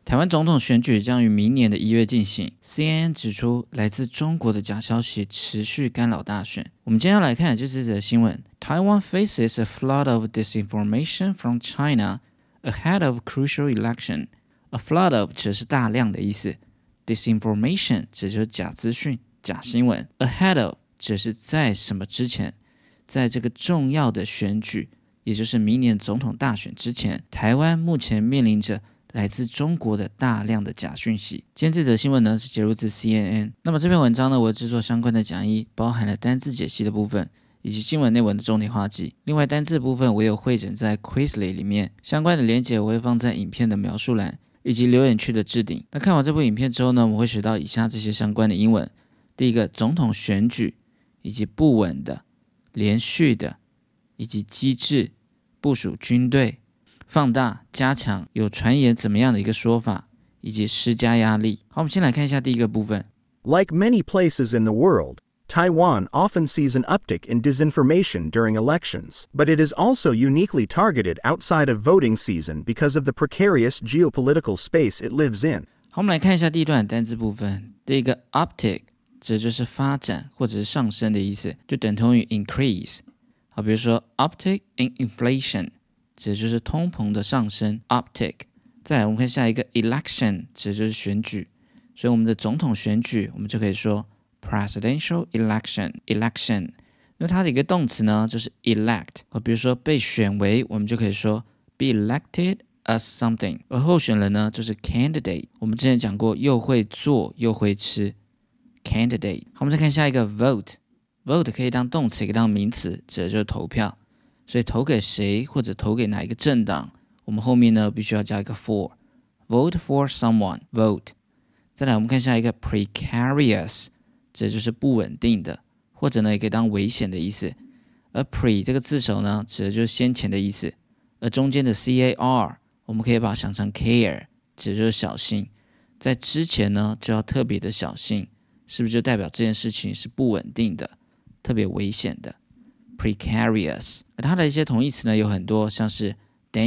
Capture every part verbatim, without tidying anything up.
台湾总统选举将于明年的一月进行。C N N 指出，来自中国的假消息持续干扰大选。我们今天要来看的就是这则新闻 ：Taiwan faces a flood of disinformation from China ahead of crucial election。A flood of 指的是大量的意思 ，disinformation 指的就是假资讯、假新闻 ，ahead of 指的是在什么之前，在这个重要的选举，也就是明年总统大选之前，台湾目前面临着来自中国的大量的假讯息。今天这则新闻呢是截录自 C N N。那么这篇文章呢，我制作相关的讲义，包含了单字解析的部分，以及新闻内文的重点画记。另外单字部分我有汇整在 Quizlet 里面，相关的连结我会放在影片的描述栏以及留言区的置顶。那看完这部影片之后呢，我们会学到以下这些相关的英文。第一个，总统选举，以及不稳的、连续的，以及机制、部署军队。放大、加强有传言怎么样的一个说法，以及施加压力。好，我们先来看一下第一个部分。 Like many places in the world, Taiwan often sees an uptick in disinformation during elections, but it is also uniquely targeted outside of voting season because of the precarious geopolitical space it lives in. 好，我们来看一下第一段单字部分。第一个 uptick 指的就是发展或者是上升的意思，就等同于 increase。好，比如说 uptick in inflation。指的就是通膨的上升 uptick。 再来我们看下一个 election， 指的就是选举，所以我们的总统选举我们就可以说 presidential election election。 那它的一个动词呢就是 elect， 比如说被选为我们就可以说 be elected as something， 而候选人呢就是 candidate， 我们之前讲过又会做又会吃 candidate。 好，我们再看下一个 vote vote 可以当动词也可以当名词，指的就是投票，所以投给谁或者投给哪一个政党，我们后面呢必须要加一个 for， vote for someone vote。 再来我们看下一个 precarious， 这就是不稳定的，或者呢也可以当危险的意思。而 pre 这个字首呢指的就是先前的意思，而中间的 car 我们可以把它想成 care， 指的就是小心，在之前呢就要特别的小心，是不是就代表这件事情是不稳定的，特别危险的precarious。 而它的一些同义词呢有很多，像是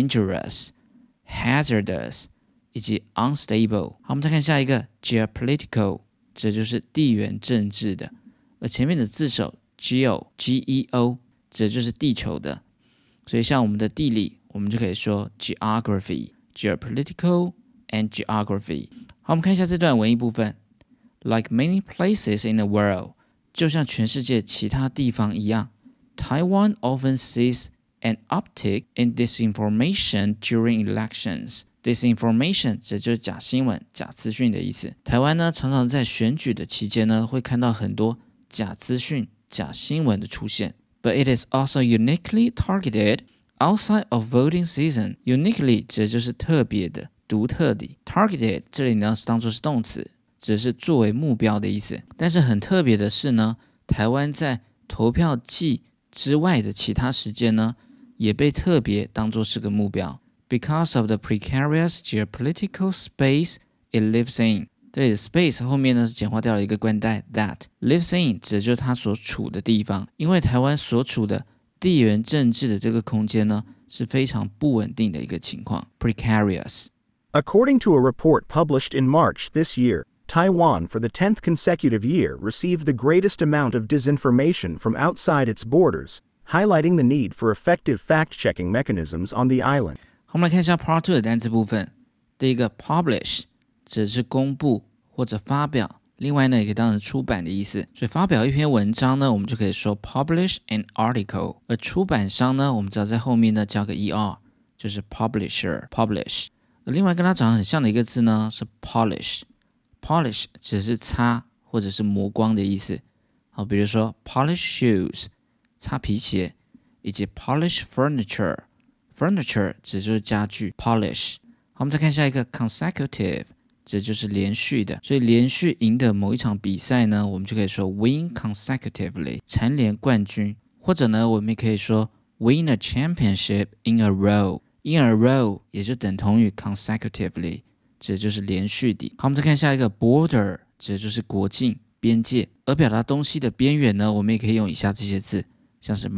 dangerous、hazardous 以及 unstable。 好，我们再看下一个 geopolitical， 这就是地缘政治的，而前面的字首 geo G E O 这就是地球的，所以像我们的地理我们就可以说 geography geopolitical and geography。 好，我们看一下这段文艺部分。 Like many places in the world， 就像全世界其他地方一样，Taiwan often sees an uptick in disinformation during elections. Disinformation 指就是假新闻、假资讯的意思。台湾呢，常常在选举的期间呢，会看到很多假资讯、假新闻的出现。But it is also uniquely targeted outside of voting season. Uniquely 指的就是特别的、独特的。Targeted 这里呢是当作是动词，指的是作为目标的意思。但是很特别的是呢，台湾在投票季之外的其他时间呢，也被特别当作是个目标 because of the precarious geopolitical space it lives in。 这里的 space 后面呢是简化掉了一个冠带 that lives in， 指的就是它所处的地方。因为台湾所处的地缘政治的这个空间呢是非常不稳定的一个情况 precarious。 According to a report published in March this year, Taiwan, for the tenth consecutive year, received the greatest amount of disinformation from outside its borders, highlighting the need for effective fact-checking mechanisms on the island. 好，我们来看一下 Part two 的单词部分。第一个 publish 指的是公布或者发表，另外呢也可以当成出版的意思。所以发表一篇文章呢，我们就可以说 publish an article。而出版商呢，我们只要在后面呢加个 er， 就是 publisher publish。而另外跟它长得很像的一个字呢是 polish。Polish 只是擦或者是磨光的意思。好，比如说 polish shoes 擦皮鞋，以及 polish furniture furniture 指就是家具 polish。 好，我们再看下一个 consecutive， 指就是连续的，所以连续赢得某一场比赛呢，我们就可以说 win consecutively 蝉联冠军，或者呢我们也可以说 win a championship in a row in a row 也就等同于 consecutively，指的就是连续的。好，我们再看下一个 border， 指的就是国境、边界。而表达东西的边缘呢，我们也可以用以下这些字，像是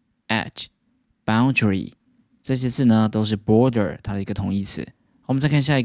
margin、edge、boundary， 这些字呢都是 border 它的一个同义词。好，我们再看下一个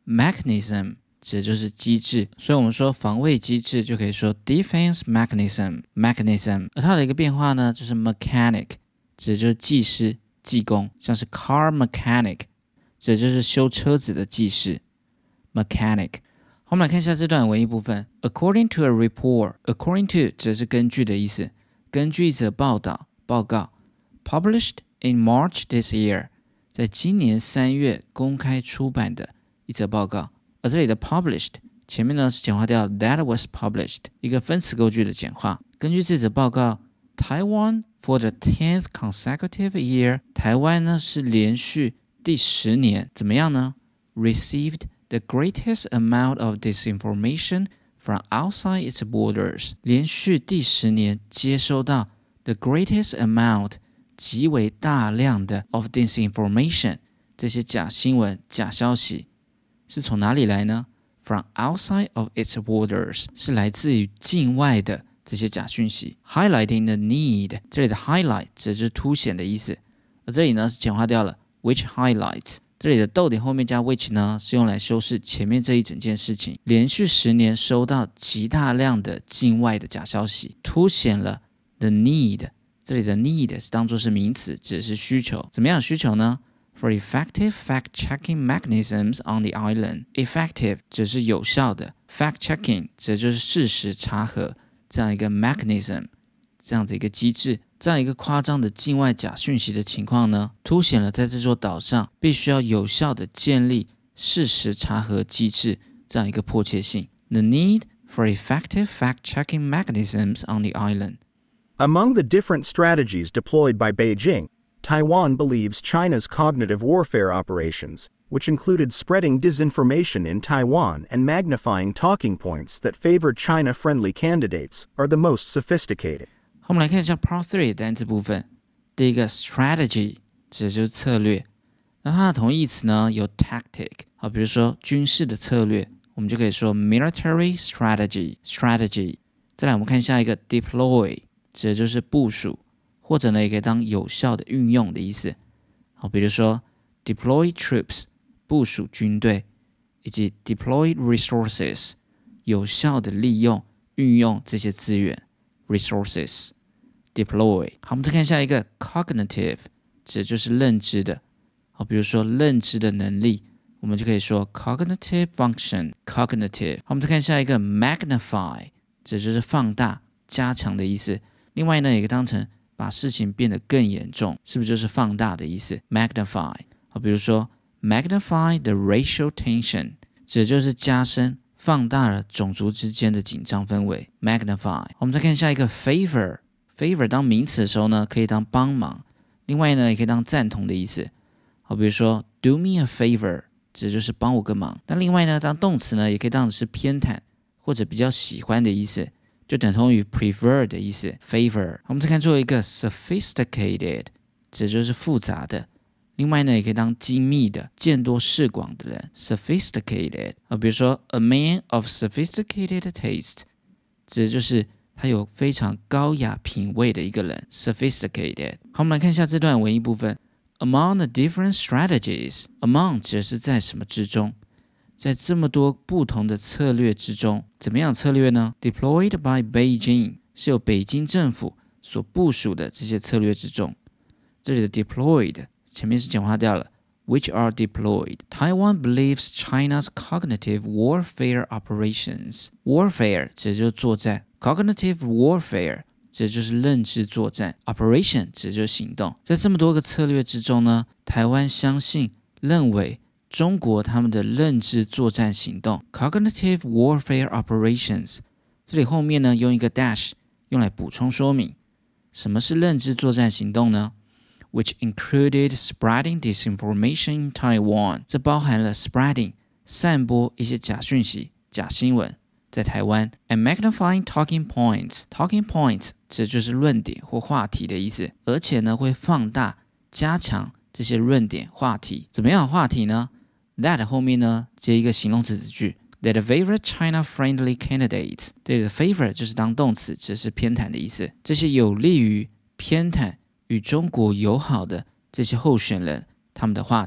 mechanism 指的就是机制，所以我们说防卫机制就可以说 defense mechanism mechanism。而它的一个变化呢，就是 mechanic 指的就是技师、技工，像是 car mechanic 指的就是修车子的技师 mechanic。我们来看一下这段文艺部分 according to a report according to 指的是根据的意思，根据一则报道报告 published in March this year 在今年三月公开出版的一则报告。而这里的 published 前面呢是简化掉 that was published 一个分词构句的简化。根据这则报告 Taiwan for the tenth consecutive year 台湾呢是连续第十年怎么样呢 received the greatest amount of disinformation from outside its borders 连续第十年接收到 the greatest amount 极为大量的 of disinformation 这些假新闻假消息是从哪里来呢 from outside of its borders 是来自于境外的这些假讯息 highlighting the need 这里的 highlight 指的是凸显的意思，而这里呢是简化掉了 which highlights 这里的逗点后面加 which 呢是用来修饰前面这一整件事情，连续十年收到极大量的境外的假消息，凸显了 the need 这里的 need 是当作是名词，指的是需求，怎么样的需求呢For effective fact-checking mechanisms on the island. Effective 指是有效的 fact-checking 指的就是事实查核这样一个 mechanism 这样子一个机制，这样一个夸张的境外假讯息的情况呢，凸显了在这座岛上必须要有效的建立事实查核机制这样一个迫切性 The need for effective fact-checking mechanisms on the island. Among the different strategies deployed by Beijing, Taiwan believes China's cognitive warfare operations, which included spreading disinformation in Taiwan and magnifying talking points that favor China-friendly candidates, are the most sophisticated. 我们来看一下 Part three 的单词部分。第一个 strategy 指的就是策略，那它的同义词呢有 tactic， 好，比如说军事的策略，我们就可以说 military strategy strategy。再来我们看下一个 deploy 指的就是部署。或者呢，也可以当有效的运用的意思。好，比如说 deploy troops 部署军队，以及 deploy resources 有效的利用、运用这些资源 resources deploy。好，我们再看下一个 cognitive 指的就是认知的。好，比如说认知的能力，我们就可以说 cognitive function cognitive。好，我们再看下一个 magnify 指的就是放大、加强的意思。另外呢，也可以当成把事情变得更严重，是不是就是放大的意思 magnify 好，比如说 magnify the racial tension 指的就是加深放大了种族之间的紧张氛围 magnify。 我们再看下一个 favor favor 当名词的时候呢可以当帮忙，另外呢也可以当赞同的意思，好，比如说 do me a favor 指的就是帮我个忙，那另外呢当动词呢也可以当的是偏袒或者比较喜欢的意思，就等同于 prefer 的意思 favor。 我们再看最后一个 sophisticated 指的就是复杂的，另外呢也可以当精密的、见多识广的人 sophisticated。 比如说 a man of sophisticated taste 指的就是他有非常高雅品味的一个人 sophisticated。 好，我们来看一下这段文艺部分 among the different strategies among 指的是在什么之中，在这么多不同的策略之中，怎么样的策略呢 Deployed by Beijing 是由北京政府所部署的这些策略之中，这里的 deployed 前面是简化掉了 which are deployed. Taiwan believes China's cognitive warfare operations. Warfare 指的就是作战， cognitive warfare 指的就是认知作战， operation 指的就是行动。在这么多个策略之中呢，台湾相信认为中国他们的认知作战行动 cognitive warfare operations 这里后面呢用一个 dash 用来补充说明什么是认知作战行动呢， which included spreading disinformation in Taiwan 这包含了 spreading 散播一些假讯息假新闻在台湾 and magnifying talking points talking points 这就是论点或话题的意思，而且呢会放大加强这些论点话题，怎么样的话题呢That 后面呢接一个形容词子句 That favor China-friendly candidates 这里的 favor 就是当动词，只是偏袒的意思，这些有利于偏袒与中国友好的这些候选人他们的话题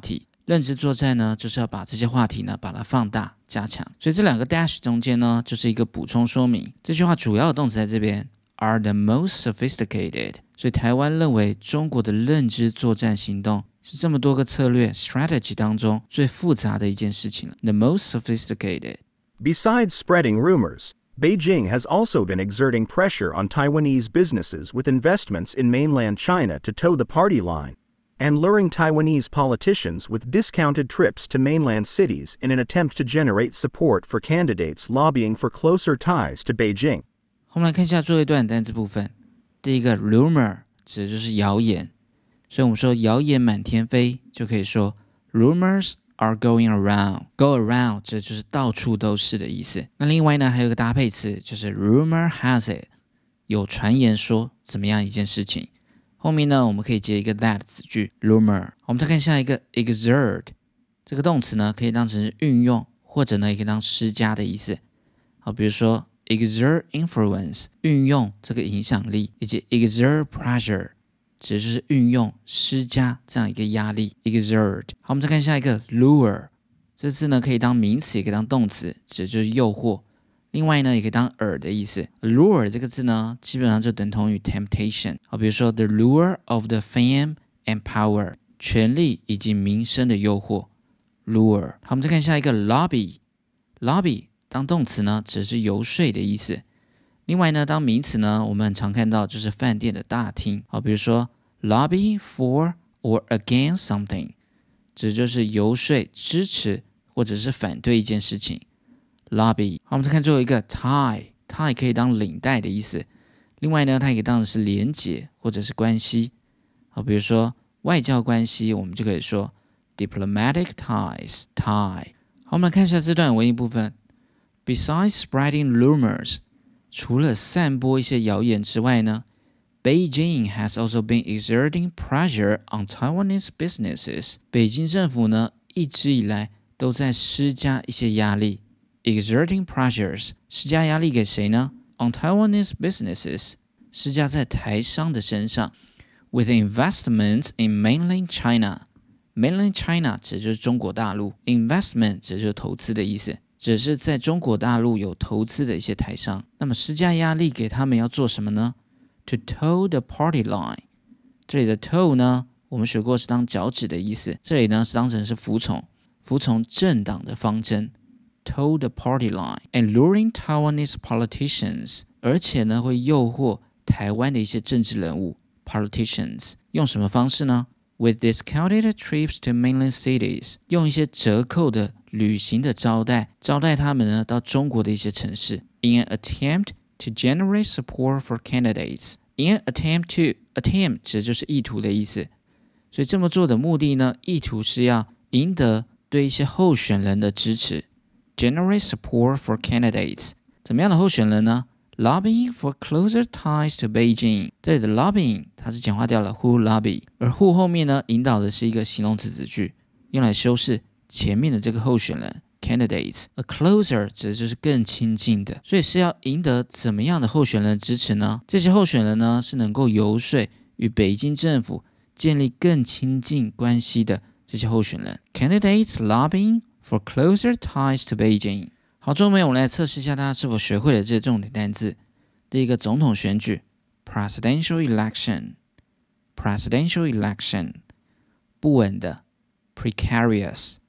认知作战呢，就是要把这些话题呢，把它放大加强。所以这两个 dash 中间呢，就是一个补充说明。这句话主要的动词在这边 are the most sophisticated。所以台湾认为中国的认知作战行动是这么多个策略 strategy 当中最复杂的一件事情了。The most sophisticated. Besides spreading rumors, Beijing has also been exerting pressure on Taiwanese businesses with investments in mainland China to toe the party line, and luring Taiwanese politicians with discounted trips to mainland cities in an attempt to generate support for candidates lobbying for closer ties to Beijing. 我们来看一下最后一段单字部分。第一个 rumor 指的就是谣言，所以我们说谣言满天飞，就可以说 rumors are going around. Go around 指的就是到处都是的意思。那另外呢，还有一个搭配词，就是 rumor has it， 有传言说怎么样一件事情。后面呢，我们可以接一个 that 子句 rumor。我们再看下一个 exert， 这个动词呢，可以当成是运用，或者呢，也可以当施加的意思。好，比如说 exert influence， 运用这个影响力，以及 exert pressure， 指的就是运用施加这样一个压力 exert。好，我们再看下一个 lure， 这字呢可以当名词，也可以当动词，指的就是诱惑。另外呢，也可以当饵的意思。lure 这个字呢，基本上就等同于 temptation。好，比如说 the lure of the fame and power， 权力以及名声的诱惑 lure。好，我们再看下一个 lobby， lobby 当动词呢，只是游说的意思。另外呢，当名词呢，我们很常看到就是饭店的大厅。好，比如说 lobby for or against something， 指就是游说、支持或者是反对一件事情。lobby。 好，我们再看最后一个 tie， tie 可以当领带的意思。另外呢，它也可以当的是连结或者是关系。好，比如说外交关系，我们就可以说 diplomatic ties tie。 好，我们来看一下这段文艺部分。 Besides spreading rumors， 除了散播一些谣言之外呢， Beijing has also been exerting pressure on Taiwanese businesses。 北京政府呢，一直以来都在施加一些压力。Exerting pressures， 施加压力给谁呢？ On Taiwanese businesses， 施加在台商的身上。With investments in mainland China， mainland China 指的就是中国大陆， investment 指的就是投资的意思，只是在中国大陆有投资的一些台商。那么施加压力给他们要做什么呢？ To toe the party line， 这里的 toe 呢，我们学过是当脚趾的意思，这里呢是当成是服从，服从政党的方针。toe the party line and luring Taiwanese politicians， 而且呢会诱惑台湾的一些政治人物 politicians， 用什么方式呢？ With discounted trips to mainland cities， 用一些折扣的旅行的招待，招待他们呢到中国的一些城市。In an attempt to generate support for candidates， In an attempt to attempt 指的就是意图的意思，所以这么做的目的呢，意图是要赢得对一些候选人的支持。Generate support for candidates， 怎么样的候选人呢？ Lobbying for closer ties to Beijing， 这里的 lobbying 它是简化掉了 who lobby， 而 who 后面呢引导的是一个形容词子句，用来修饰前面的这个候选人 candidates。 A closer 指的就是更亲近的，所以是要赢得怎么样的候选人支持呢？这些候选人呢是能够游说与北京政府建立更亲近关系的这些候选人。 Candidates lobbying for closer ties to Beijing。 好，最后面我们来测试一下大家是否学会了这些重点单字。第一个，总统选举 presidential election， presidential election。 不稳的 precarious，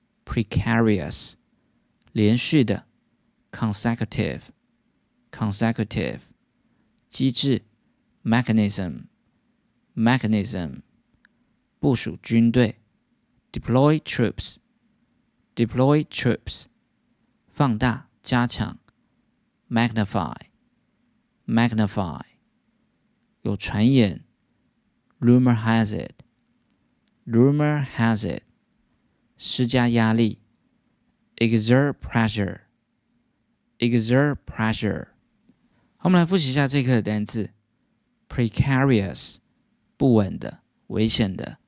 precarious。 连续的 consecutive， consecutive。 机制 mechanism， mechanism。 部署军队 deploy troops， deploy troops。 放大加强 magnify， magnify。 有传言 rumor has it， rumor has it。 施加压力 exert pressure， exert pressure。 好，我们来复习一下这课的单字 precarious， 不稳的危险的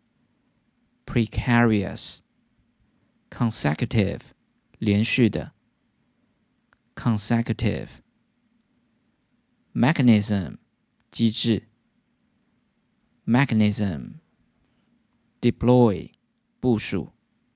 precarious。 consecutive， 连续的consecutive。 mechanism， 机制 mechanism。 deploy， 部署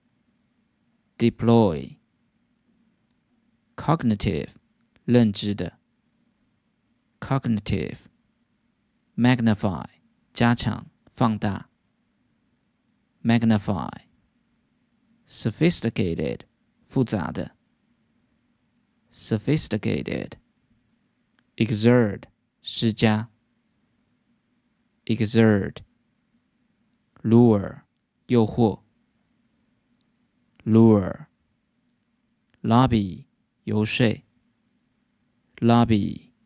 deploy cognitive 认知的 cognitive magnify 加强放大 magnify sophisticated 复杂的 sophisticated exert 施加 exert lure 诱惑 lure lobby 游说 lobby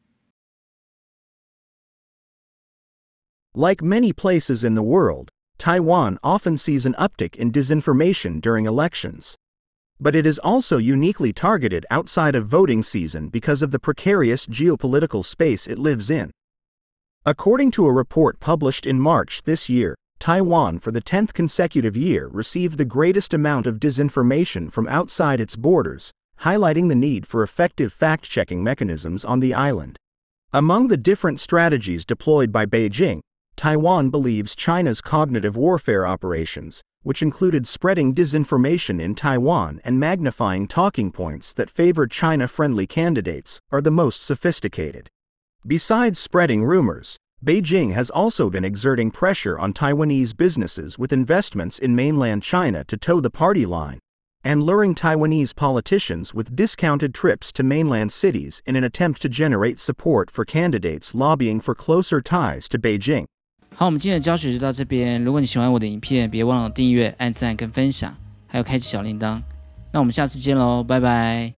Like many places in the world, Taiwan often sees an uptick in disinformation during elections. But it is also uniquely targeted outside of voting season because of the precarious geopolitical space it lives in. According to a report published in March this year, Taiwan for the tenth consecutive year received the greatest amount of disinformation from outside its borders, highlighting the need for effective fact-checking mechanisms on the island. Among the different strategies deployed by Beijing, Taiwan believes China's cognitive warfare operations, which included spreading disinformation in Taiwan and magnifying talking points that favor China-friendly candidates, are the most sophisticated. Besides spreading rumors, Beijing has also been exerting pressure on Taiwanese businesses with investments in mainland China to toe the party line, and luring Taiwanese politicians with discounted trips to mainland cities in an attempt to generate support for candidates lobbying for closer ties to Beijing. 好，我们今天的教学就到这边。如果你喜欢我的影片，别忘了订阅、按赞跟分享，还有开启小铃铛。那我们下次见喽，拜拜。